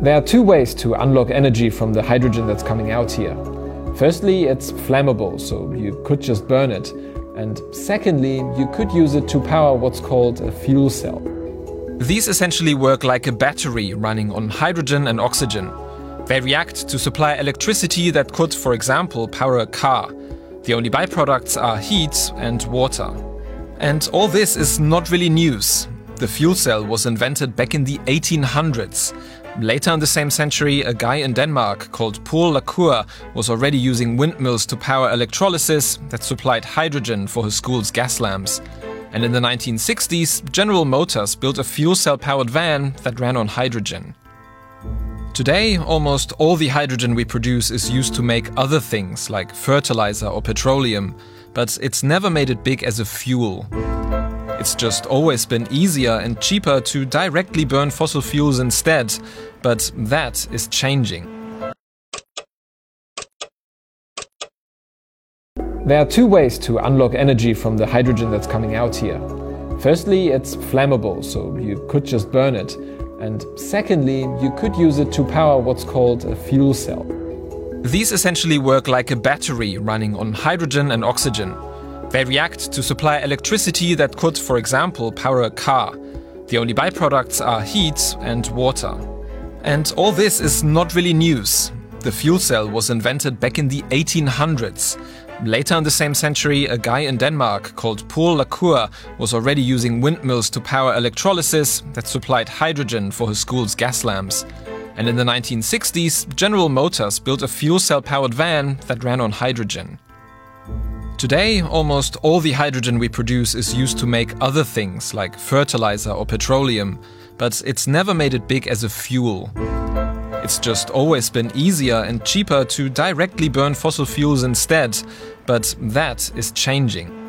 There are two ways to unlock energy from the hydrogen that's coming out here. Firstly, it's flammable, so you could just burn it. And secondly, you could use it to power what's called a fuel cell. These essentially work like a battery running on hydrogen and oxygen. They react to supply electricity that could, for example, power a car. The only byproducts are heat and water. And all this is not really news. The fuel cell was invented back in the 1800s. Later in the same century, a guy in Denmark called Paul Lacour was already using windmills to power electrolysis that supplied hydrogen for his school's gas lamps. And in the 1960s, General Motors built a fuel cell-powered van that ran on hydrogen. Today, almost all the hydrogen we produce is used to make other things like fertilizer or petroleum, but it's never made it big as a fuel. It's just always been easier and cheaper to directly burn fossil fuels instead, but that is changing. There are two ways to unlock energy from the hydrogen that's coming out here. Firstly, it's flammable, so you could just burn it. And secondly, you could use it to power what's called a fuel cell. These essentially work like a battery running on hydrogen and oxygen. They react to supply electricity that could, for example, power a car. The only byproducts are heat and water. And all this is not really news. The fuel cell was invented back in the 1800s. Later in the same century, a guy in Denmark called Paul Lacour was already using windmills to power electrolysis that supplied hydrogen for his school's gas lamps. And in the 1960s, General Motors built a fuel cell-powered van that ran on hydrogen. Today, almost all the hydrogen we produce is used to make other things like fertilizer or petroleum, but it's never made it big as a fuel. It's just always been easier and cheaper to directly burn fossil fuels instead, but that is changing.